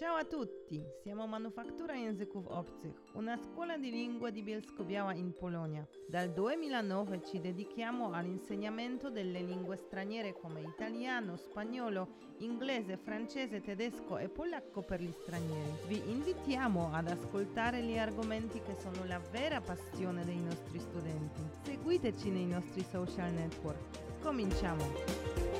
Ciao a tutti, siamo Manufaktura Języków Obcych, una scuola di lingua di Bielsko-Biała in Polonia. Dal 2009 ci dedichiamo all'insegnamento delle lingue straniere come italiano, spagnolo, inglese, francese, tedesco e polacco per gli stranieri. Vi invitiamo ad ascoltare gli argomenti che sono la vera passione dei nostri studenti. Seguiteci nei nostri social network. Cominciamo!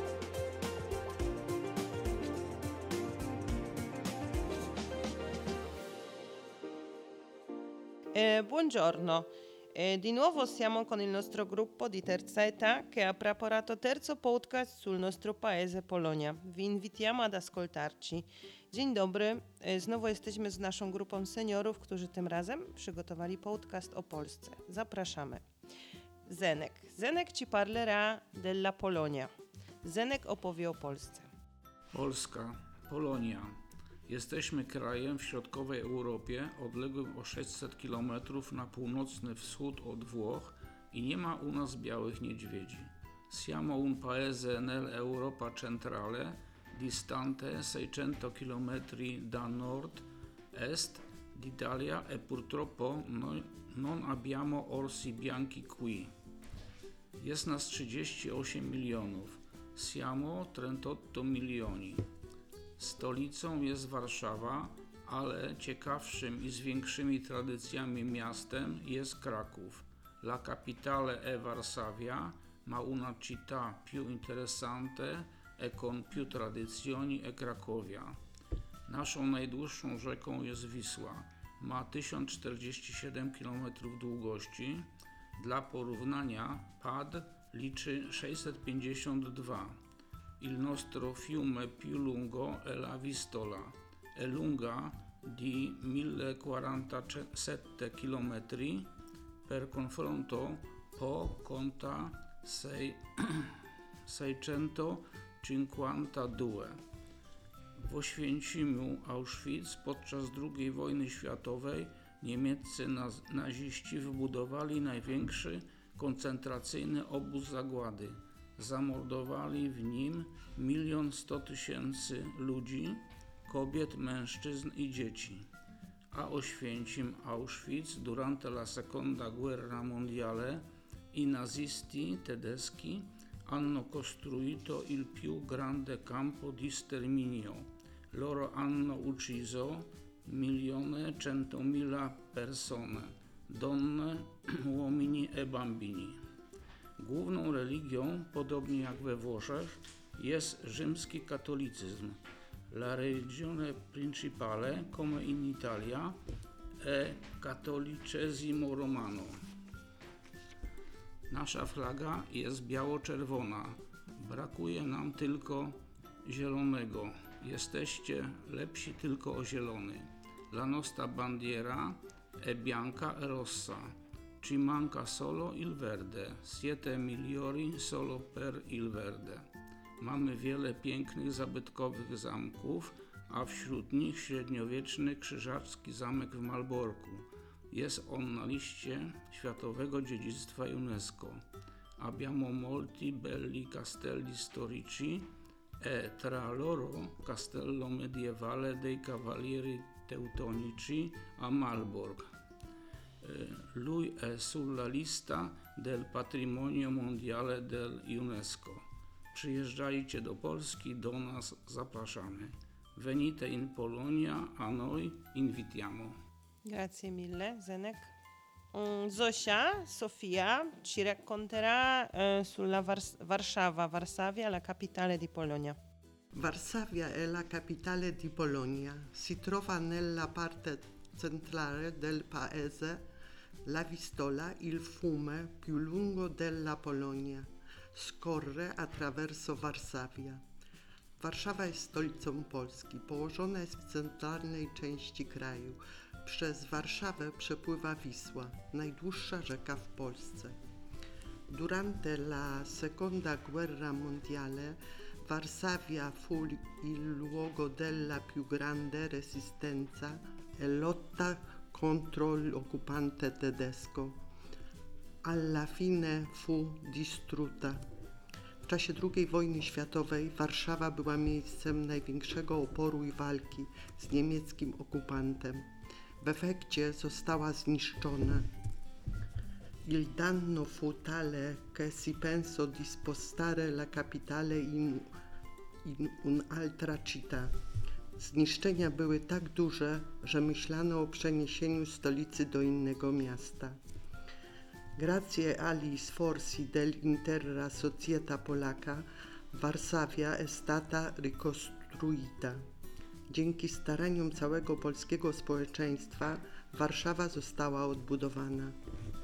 Buongiorno, di nuovo siamo con il nostro gruppo di terza età che ha preparato terzo podcast sul nostro paese Polonia. Vi invitiamo ad ascoltarci. Dzień dobry, znowu jesteśmy z naszą grupą seniorów, którzy tym razem przygotowali podcast o Polsce. Zapraszamy. Zenek ci parlerà della Polonia. Zenek opowie o Polsce. Polska, Polonia. Jesteśmy krajem w środkowej Europie, odległym o 600 km na północny wschód od Włoch i nie ma u nas białych niedźwiedzi. Siamo un paese nell'Europa centrale, distante 600 km da nord-est d'Italia e purtroppo non abbiamo orsi bianchi qui. Jest nas 38 milionów. Siamo 38 milioni. Stolicą jest Warszawa, ale ciekawszym i z większymi tradycjami miastem jest Kraków. La capitale è Varsavia, ma una città più interessante e con più tradizioni è Cracovia. Naszą najdłuższą rzeką jest Wisła. Ma 1047 km długości. Dla porównania Pad liczy 652. Il nostro fiume più lungo è la Vistola, è lunga di 1047 km, per confronto Po conta 652. W Oświęcimiu Auschwitz podczas II wojny światowej niemieccy naziści wybudowali największy koncentracyjny obóz zagłady. Zamordowali w nim 1 100 000 ludzi, kobiet, mężczyzn i dzieci. A Oświęcim Auschwitz durante la seconda guerra mondiale i nazisti tedeschi hanno costruito il più grande campo di sterminio. Loro hanno ucciso 1.100.000 persone, donne, uomini e bambini. Główną religią, podobnie jak we Włoszech, jest rzymski katolicyzm. La religione principale, come in Italia, è cattolicesimo romano. Nasza flaga jest biało-czerwona. Brakuje nam tylko zielonego. Jesteście lepsi tylko o zielony. La nostra bandiera è bianca e rossa. Ci manca solo il verde, siete migliori solo per il verde. Mamy wiele pięknych, zabytkowych zamków, a wśród nich średniowieczny krzyżacki zamek w Malborku. Jest on na liście Światowego Dziedzictwa UNESCO. Abbiamo molti belli castelli storici e tra loro castello medievale dei Cavalieri Teutonici a Malbork. Lui è sulla lista del patrimonio mondiale del UNESCO. Przyjeżdżajcie do Polski, do nas zapraszamy. Venite in Polonia, a noi invitiamo. Grazie mille, Zenek. Zosia, Sofia ci racconterà sulla Varsavia, la capitale di Polonia. Varsavia è la capitale di Polonia. Si trova nella parte centrale del paese. La Vistola, il fiume più lungo della Polonia, scorre attraverso Varsavia. Warszawa jest stolicą Polski. Położona jest w centralnej części kraju. Przez Warszawę przepływa Wisła, najdłuższa rzeka w Polsce. Durante la seconda guerra mondiale, Varsavia fu il luogo della più grande resistenza e lotta contro l'occupante tedesco. Alla fine fu distrutta. W czasie II wojny światowej Warszawa była miejscem największego oporu i walki z niemieckim okupantem. W efekcie została zniszczona. Il danno fu tale che si pensò di spostare la capitale in un'altra città. Zniszczenia były tak duże, że myślano o przeniesieniu stolicy do innego miasta. Grazie agli sforzi dell'intera società polacca, Varsavia è stata ricostruita. Dzięki staraniom całego polskiego społeczeństwa Warszawa została odbudowana.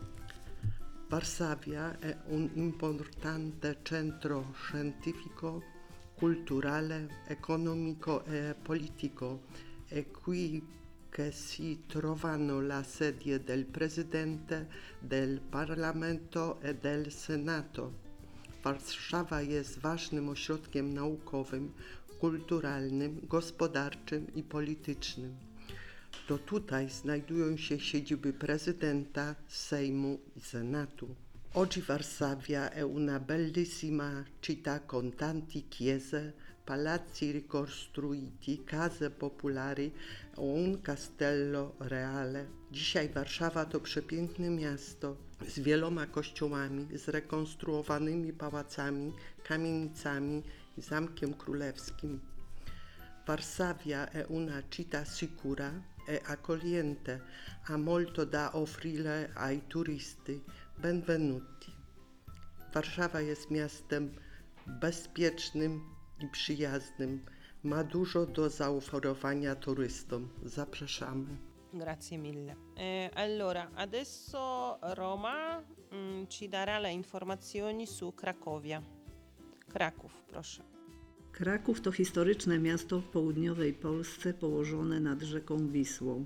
Varsavia è un importante centro scientifico, culturale, economico e politico. È qui che si trovano la sede del Presidente, del Parlamento e del Senato. Warszawa jest ważnym ośrodkiem naukowym, kulturalnym, gospodarczym i politycznym. To tutaj znajdują się siedziby prezydenta, Sejmu i Senatu. Oggi Varsavia è una bellissima città con tanti chiese, palazzi ricostruiti, case popolari e un castello reale. Dzisiaj Warszawa to przepiękne miasto z wieloma kościołami, zrekonstruowanymi pałacami, kamienicami i Zamkiem Królewskim. Varsavia è una città sicura e accogliente, ha molto da offrire ai turisti. Benvenuti. Warszawa jest miastem bezpiecznym i przyjaznym. Ma dużo do zaoferowania turystom. Zapraszamy. Grazie mille. Allora, adesso Roma ci darà le informazioni su Cracovia. Kraków, proszę. Kraków to historyczne miasto w południowej Polsce położone nad rzeką Wisłą,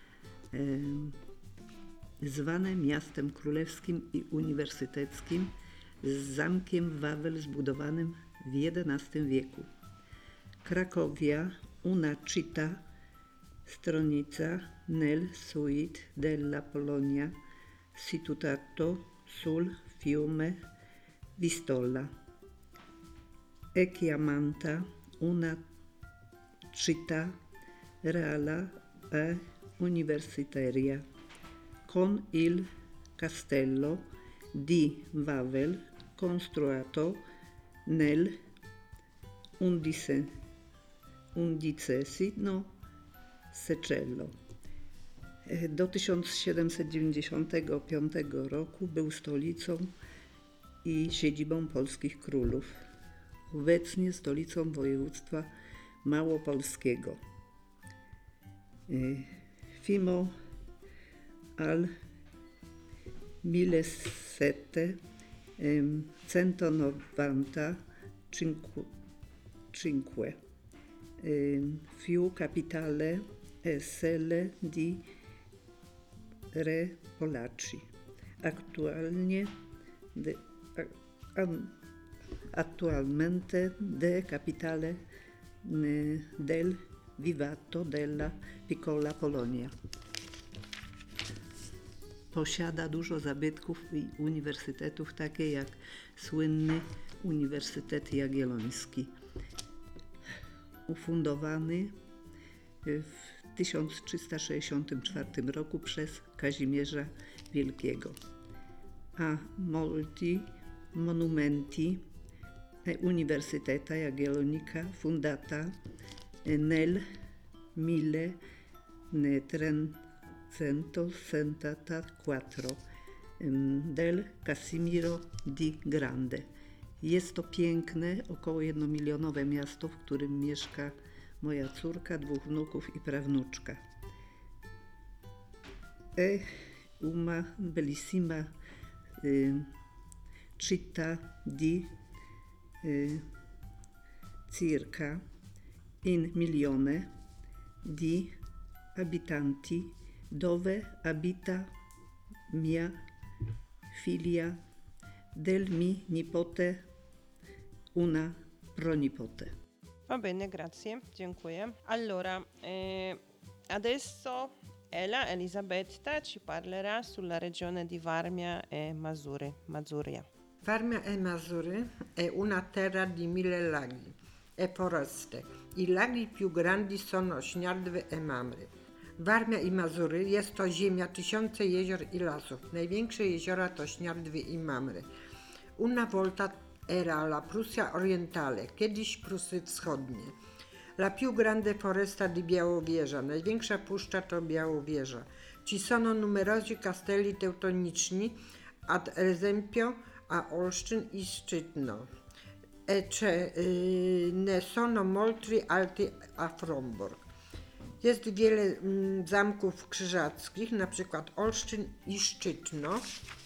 zwane miastem królewskim i uniwersyteckim, z zamkiem Wawel zbudowanym w XI wieku. Cracovia, una città, stronica nel sud della Polonia, situato sul fiume Vistola. È chiamata una città reale e universitaria, con il castello di Wawel costruito nel undicesimo secolo. Do 1795 roku był stolicą i siedzibą polskich królów. Obecnie stolicą województwa małopolskiego. Fino al 1795 fu capitale e sede di re Polacchi. Attualmente de capitale del Vivato della Piccola Polonia. Posiada dużo zabytków i uniwersytetów, takie jak słynny Uniwersytet Jagielloński, ufundowany w 1364 roku przez Kazimierza Wielkiego. A molti monumenti e Universiteta Jagiellonica fundata nel 1364 del Casimiro di Grande. Jest to piękne, około 1-milionowe miasto, w którym mieszka moja córka, 2 wnuków i prawnuczka. Una bellissima città di circa 1 milione di abitanti, dove abita mia figlia del mi nipote, una pronipote. Va bene, grazie, dziękuję. Allora, adesso Elisabetta ci parlerà sulla regione di Varmia e Masuria. Varmia e Mazuri è una terra di 1000 laghi e foreste. I laghi più grandi sono Śniardwy e Mamry. Warmia i Mazury jest to ziemia tysiące jezior i lasów. Największe jeziora to Śniardwy i Mamry. Una volta era la Prussia Orientale, kiedyś Prusy Wschodnie. La più grande foresta di Białowieża, największa puszcza to Białowieża. Ci sono numerosi castelli teutoniczni, ad esempio a Olsztyn i Szczytno. Ne sono molti alti a Fromborg. Jest wiele zamków krzyżackich, na przykład Olsztyn i Szczytno,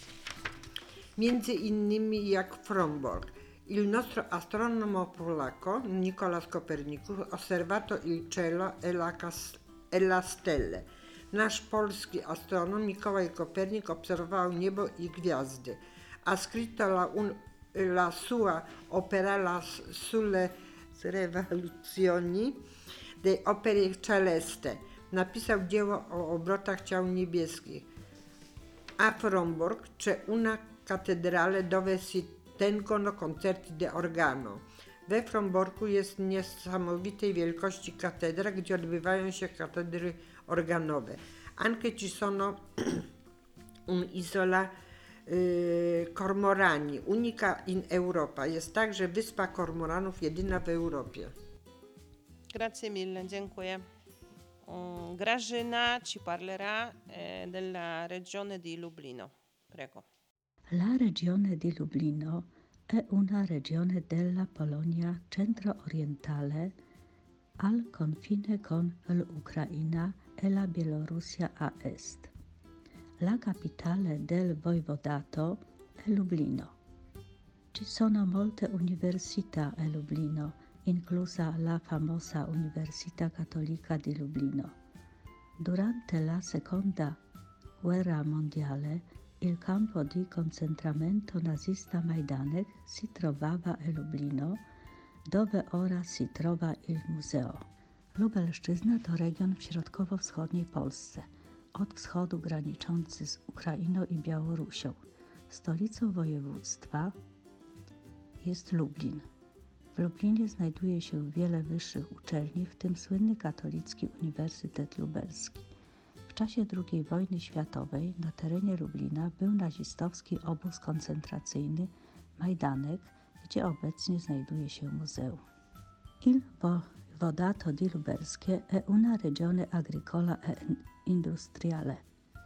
między innymi jak Fromborg. Il nostro astronomo polacco, Nicolas Copernicus, osservato il cielo e la stelle. Nasz polski astronom Mikołaj Kopernik obserwował niebo i gwiazdy. Ha scritto la sua opera sulle revoluzioni de opere celeste. Napisał dzieło o obrotach ciał niebieskich. A Fromborg c'è una cattedrale dove si tengono concerti de organo. We Fromborku jest niesamowitej wielkości katedra, gdzie odbywają się katedry organowe. Anche ci sono un'isola Kormorani, unica in Europa. Jest także wyspa Kormoranów, jedyna w Europie. Grazie mille, dziękuję. Grażyna ci parlerà della regione di Lublino. Prego. La regione di Lublino è una regione della Polonia centro-orientale al confine con l'Ucraina e la Bielorussia a est. La capitale del voivodato è Lublino. Ci sono molte università a Lublino, inclusa la famosa Università Cattolica di Lublino. Durante la Seconda Guerra Mondiale il campo di concentramento nazista Majdanek si trovava a Lublino, dove ora si trova il museo. Lubelszczyzna to region w środkowo-wschodniej Polsce, od wschodu graniczący z Ukrainą i Białorusią. Stolicą województwa jest Lublin. W Lublinie znajduje się wiele wyższych uczelni, w tym słynny Katolicki Uniwersytet Lubelski. W czasie II wojny światowej na terenie Lublina był nazistowski obóz koncentracyjny Majdanek, gdzie obecnie znajduje się muzeum. Il voivodato di Lubelskie è una regione agricola e industriale.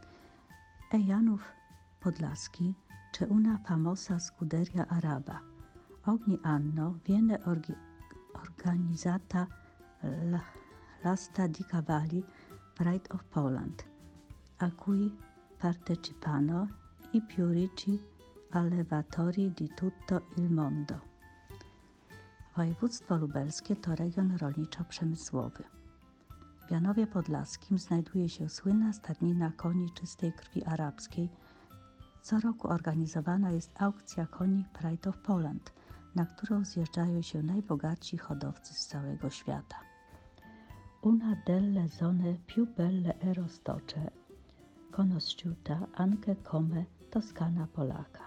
E Janów Podlaski c'è una famosa scuderia araba. Ogni anno viene organizzata l'asta di cavalli Pride of Poland, a cui partecipano i più ricchi allevatori di tutto il mondo. Województwo lubelskie to region rolniczo-przemysłowy. W Janowie Podlaskim znajduje się słynna stadnina koni czystej krwi arabskiej. Co roku organizowana jest aukcja koni Pride of Poland, na którą zjeżdżają się najbogatsi hodowcy z całego świata. Una delle zone più belle e rostocze, conosciuta anche come Toscana polacca.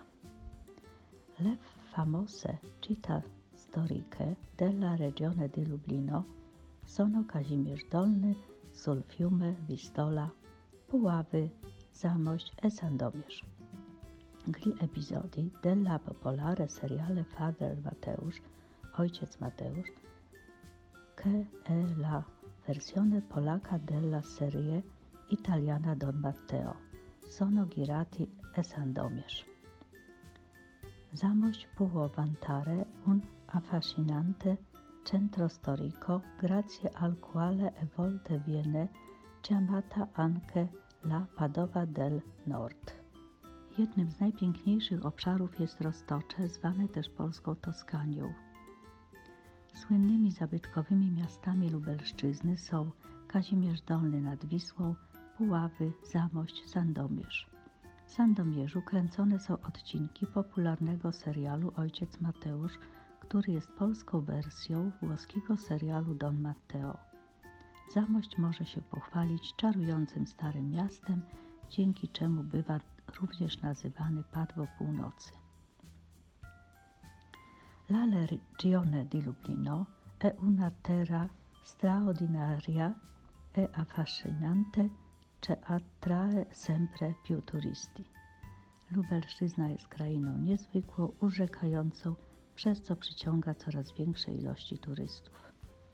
Le famose città storiche della regione di Lublino sono Kazimierz Dolny, sul fiume Wistola, Puławy, Zamość e Sandomierz. Gli episodi della popolare seriale Father Mateusz, Ojciec Mateusz, che è la versione polacca della serie italiana Don Matteo, sono girati a Sandomierz. Zamość può vantare un affascinante centro storico grazie al quale a volte viene chiamata anche la Padova del Nord. Jednym z najpiękniejszych obszarów jest Roztocze, zwane też polską Toskanią. Słynnymi zabytkowymi miastami Lubelszczyzny są Kazimierz Dolny nad Wisłą, Puławy, Zamość, Sandomierz. W Sandomierzu kręcone są odcinki popularnego serialu Ojciec Mateusz, który jest polską wersją włoskiego serialu Don Matteo. Zamość może się pochwalić czarującym starym miastem, dzięki czemu bywa również nazywany Padwo Północy. La regione di Lublino è una terra straordinaria e affascinante che attrae sempre più turisti. Lubelszczyzna jest krainą niezwykłą, urzekającą, przez co przyciąga coraz większe ilości turystów.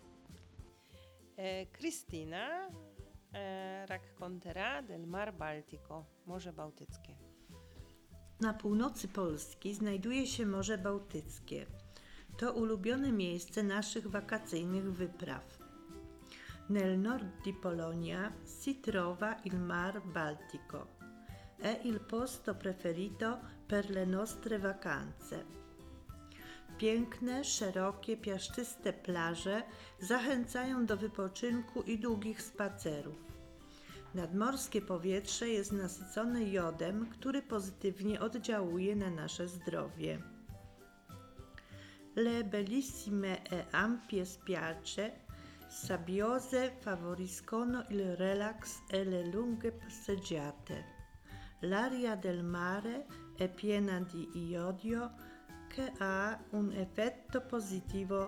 Cristina racconterà del Mar Baltico, Morze Bałtyckie. Na północy Polski znajduje się Morze Bałtyckie. To ulubione miejsce naszych wakacyjnych wypraw. Nel nord di Polonia si trova il Mar Baltico. È il posto preferito per le nostre vacanze. Piękne, szerokie, piaszczyste plaże zachęcają do wypoczynku i długich spacerów. Nadmorskie powietrze jest nasycone jodem, który pozytywnie oddziałuje na nasze zdrowie. Le bellissime e ampie spiagge sabbiose favoriscono il relax e le lunghe passeggiate. L'aria del mare è piena di iodio che ha un effetto positivo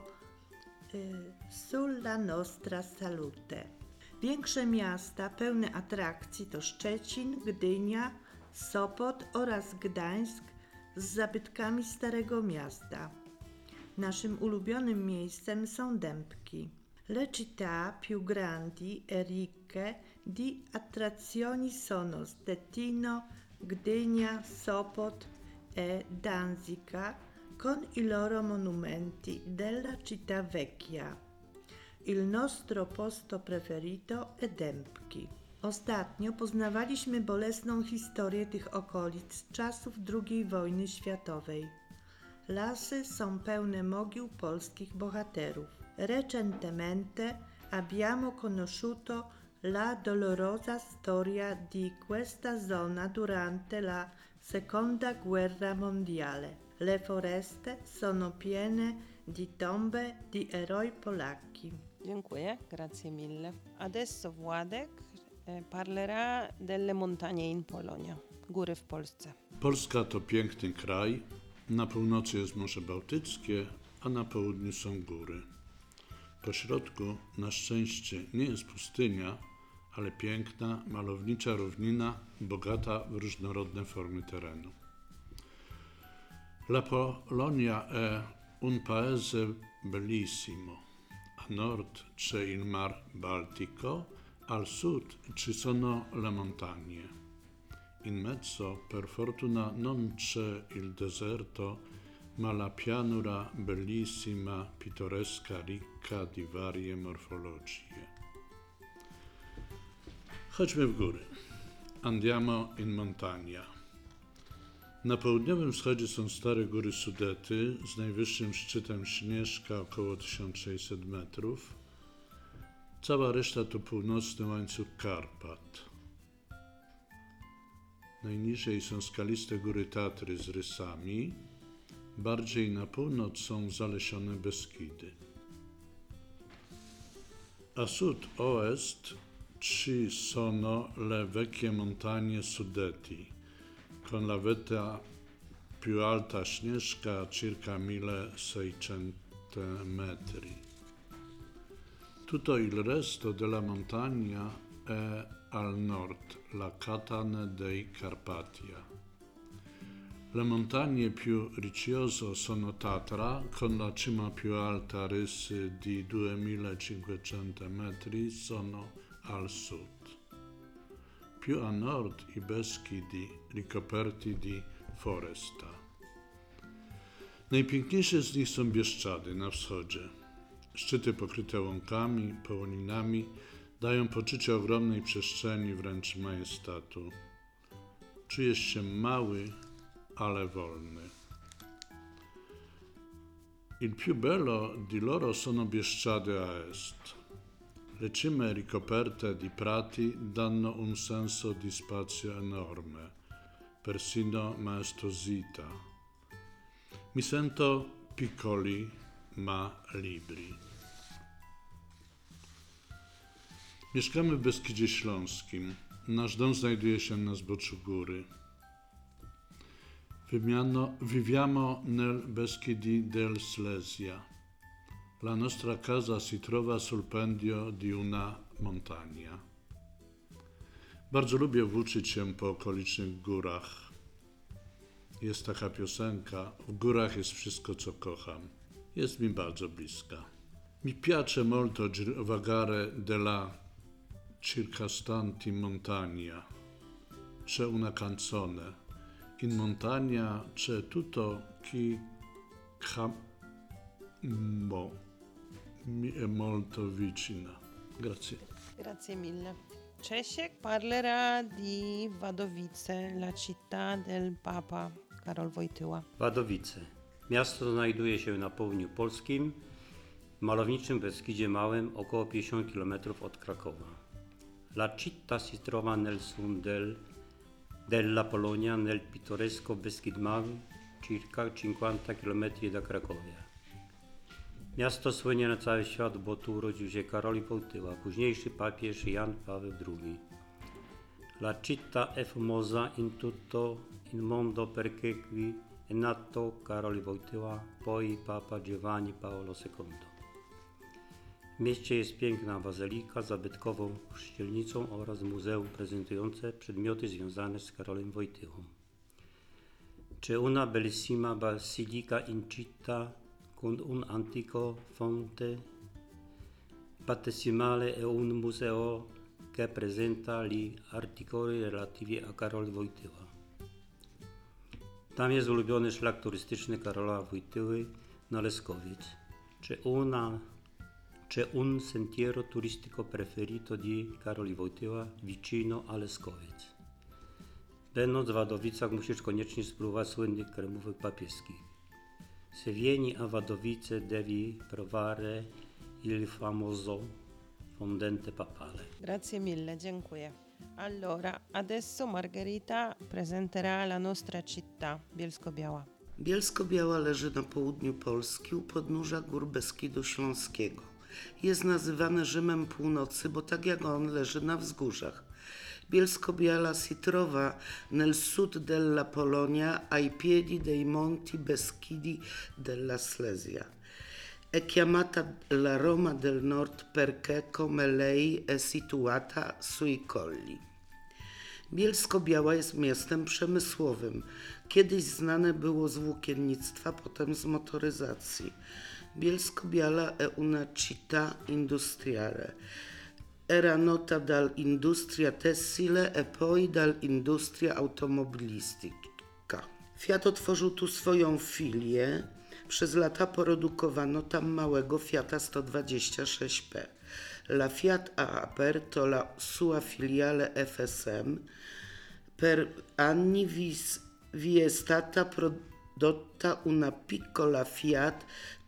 sulla nostra salute. Większe miasta pełne atrakcji to Szczecin, Gdynia, Sopot oraz Gdańsk z zabytkami Starego Miasta. Naszym ulubionym miejscem są Dębki. Le città più grandi e ricche di attrazioni sono Stettino, Gdynia, Sopot e Danzica con i loro monumenti della città vecchia. Il nostro posto preferito è Dębki. Ostatnio poznawaliśmy bolesną historię tych okolic z czasów II wojny światowej. Lasy są pełne mogił polskich bohaterów. Recentemente abbiamo conosciuto la dolorosa storia di questa zona durante la Seconda Guerra Mondiale. Le foreste sono piene di tombe di eroi polacchi. Dziękuję, grazie mille. Adesso Władek parlerà delle montagne in Polonia, góry w Polsce. Polska to piękny kraj. Na północy jest Morze Bałtyckie, a na południu są góry. Po środku, na szczęście, nie jest pustynia, ale piękna, malownicza równina, bogata w różnorodne formy terenu. La Polonia è un paese bellissimo. A nord c'è il Mar Baltico, al sud ci sono le montagne. In mezzo, per fortuna, non c'è il deserto, ma la pianura bellissima, pittoresca, ricca di varie morfologie. Chodźmy w góry. Andiamo in montagna. Na południowym wschodzie są stare góry Sudety z najwyższym szczytem Śnieżka około 1600 metrów. Cała reszta to północny łańcuch Karpat. Najniżej są skaliste góry Tatry z rysami. Bardziej na północ są zalesione Beskidy. A sud-ovest ci sono le vecchie montagne Sudeti, con la vetta più alta Śnieżka circa 1600 metri. Tutto il resto della montagna è al nord, la Catane dei Carpatia. Le montagne più ricciose sono Tatra, con la cima più alta Rysy di 2500 metri, sono al sud. Più a nord i Beskidi ricoperti di foresta. Najpiękniejsze z nich są Bieszczady na wschodzie. Szczyty pokryte łąkami, połoninami dają poczucie ogromnej przestrzeni, wręcz majestatu. Czujesz się mały, ale wolny. Il più bello di loro sono Bieszczady a est. Le cime ricoperte di prati danno un senso di spazio enorme, persino maestosità. Mi sento piccoli ma libri. Mieszkamy w Beskidzie Śląskim. Nasz dom znajduje się na zboczu góry. Viviamo nel Beschidi del Slesia. La nostra casa si trova sul pendio di una montagna. Bardzo lubię włóczyć się po okolicznych górach. Jest taka piosenka, w górach jest wszystko, co kocham. Jest mi bardzo bliska. Mi piace molto vagare della circostanti montagna. C'è una canzone. In montagna c'è tutto chi mi è molto vicina. Grazie. Grazie mille. Czesiek parlerà di Wadowice, la città del Papa, Karol Wojtyła. Wadowice. Miasto znajduje się na południu polskim, w malowniczym Beskidzie Małym, około 50 km od Krakowa. La città si trova nel sud della Polonia, nel pittoresco Beskid Mały, circa 50 km da Cracovia. Miasto słynie na cały świat, bo tu urodził się Karol Wojtyła, późniejszy papież Jan Paweł II. La città è famosa in tutto il mondo perché qui è nato Karol Wojtyła, poi Papa Giovanni Paolo II. W mieście jest piękna bazylika z zabytkową kościelnicą oraz muzeum prezentujące przedmioty związane z Karolem Wojtyłą. C'è una bellissima basilica in città con un antico fonte battesimale e un museo che presenta gli articoli relativi a Karol Wojtyła. Tam jest ulubiony szlak turystyczny Karola Wojtyły na Leskowiec. C'è un sentiero turistico preferito di Karol Wojtyła vicino a Leskowiec. Będąc w Wadowicach musisz koniecznie spróbować słynnych kremówek papieskich. Se vieni a Wadowice devi provare il famoso fondente papale. Grazie mille, dziękuję. Allora, adesso Margherita presenterà la nostra città, Bielsko-Biała. Bielsko-Biała leży na południu Polski u podnóża gór Beskidu Śląskiego. Jest nazywane Rzymem Północy, bo tak jak on leży na wzgórzach. Bielsko-Biała si trova nel sud della Polonia ai piedi dei monti Beschidi della Slesia. È chiamata la Roma del Nord perché come lei è situata sui colli. Bielsko-Biała jest miastem przemysłowym. Kiedyś znane było z włókiennictwa, potem z motoryzacji. Bielsko-Biała è una città industriale. Era nota dall'industria tessile e poi dall'industria automobilistica. Fiat otworzył tu swoją filię. Przez lata produkowano tam małego Fiata 126P. La Fiat ha aperto la sua filiale FSM. Per anni vi è stata prodotta una piccola Fiat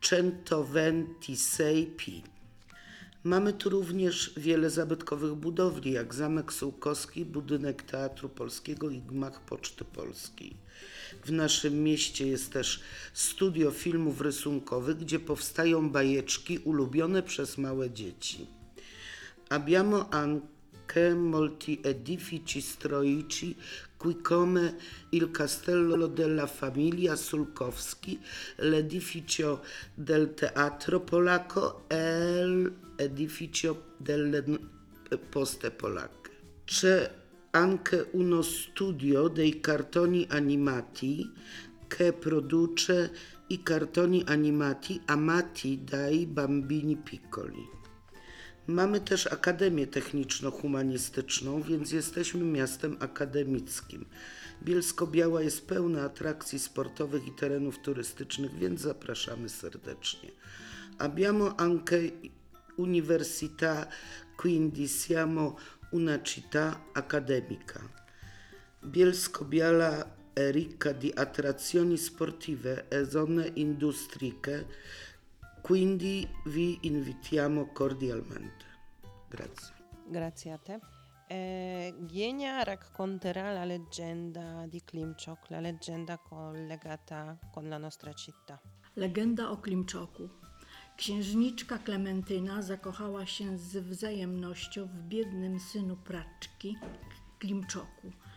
126P. Mamy tu również wiele zabytkowych budowli, jak Zamek Sułkowski, budynek Teatru Polskiego i gmach Poczty Polskiej. W naszym mieście jest też studio filmów rysunkowych, gdzie powstają bajeczki ulubione przez małe dzieci. Abbiamo anche molti edifici storici qui come il Castello della Famiglia Sulkowski, l'edificio del Teatro Polacco e l'edificio delle Poste Polacche. C'è anche uno studio dei cartoni animati che produce i cartoni animati amati dai bambini piccoli. Mamy też Akademię Techniczno-Humanistyczną, więc jesteśmy miastem akademickim. Bielsko-Biała jest pełna atrakcji sportowych i terenów turystycznych, więc zapraszamy serdecznie. Abbiamo anche università, quindi siamo una città accademica. Bielsko-Biała è ricca di attrazioni sportive e zone industriche, quindi vi invitiamo cordialmente. Grazie. Grazie a te. Gienia racconterà la leggenda di Klimczok, la leggenda collegata con la nostra città. Legenda o Klimczoku. Księżniczka Klementyna zakochała się z wzajemnością w biednym synu praczki Klimczoku.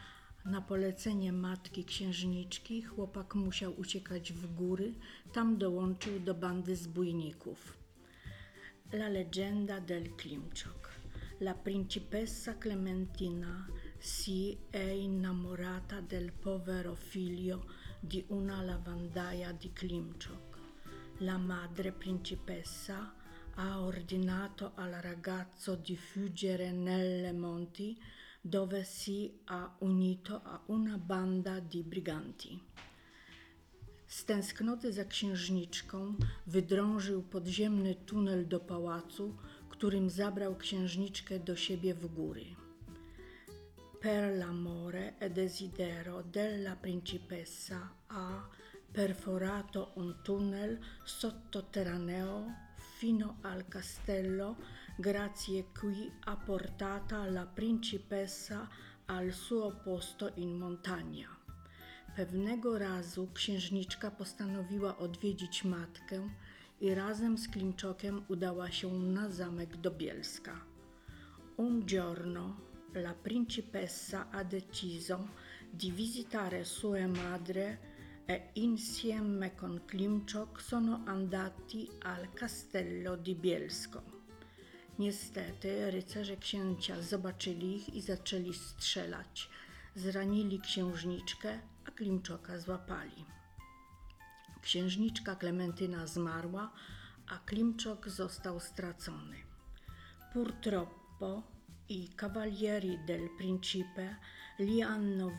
Na polecenie matki księżniczki chłopak musiał uciekać w góry, tam dołączył do bandy zbójników. La leggenda del Klimczok. La principessa Clementina si è innamorata del povero figlio di una lavandaia di Klimczok. La madre principessa ha ordinato al ragazzo di fuggire nelle monti dove si è unito a una banda di briganti. Z tęsknoty za księżniczką wydrążył podziemny tunel do pałacu, którym zabrał księżniczkę do siebie w góry. Per l'amore e desiderio della principessa ha perforato un tunnel sotterraneo fino al castello, grazie cui ha portata la principessa al suo posto in montagna. Pewnego razu księżniczka postanowiła odwiedzić matkę i razem z Klimczokiem udała się na zamek do Bielska. Un giorno la principessa ha deciso di visitare sua madre e insieme con Klimczok sono andati al castello di Bielsko. Niestety rycerze księcia zobaczyli ich i zaczęli strzelać. Zranili księżniczkę, a Klimczoka złapali. Księżniczka Klementyna zmarła, a Klimczok został stracony. Purtroppo i cavalieri del principe li hanno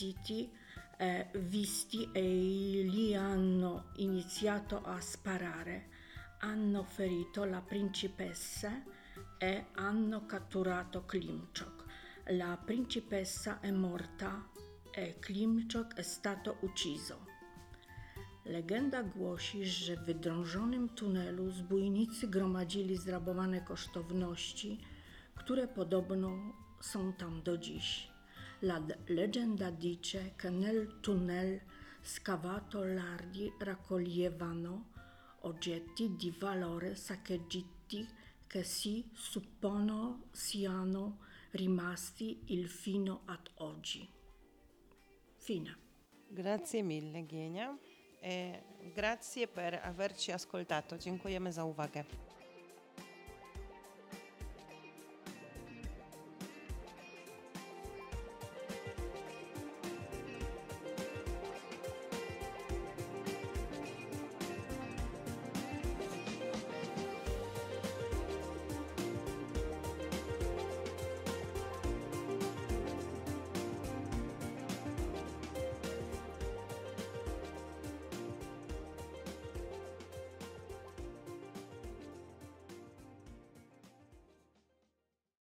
visti e li hanno iniziato a sparare, hanno ferito la principessa e hanno catturato Klimczok. La principessa è morta e Klimczok è stato ucciso. Legenda głosi, że w wydrążonym tunelu zbójnicy gromadzili zrabowane kosztowności, które podobno są tam do dziś. La leggenda dice che nel tunnel scavato lardi raccoglievano oggetti di valore saccheggiati che si suppongono siano rimasti il fino ad oggi. Fine. Grazie mille Gienia e grazie per averci ascoltato. Dziękujemy za uwagę.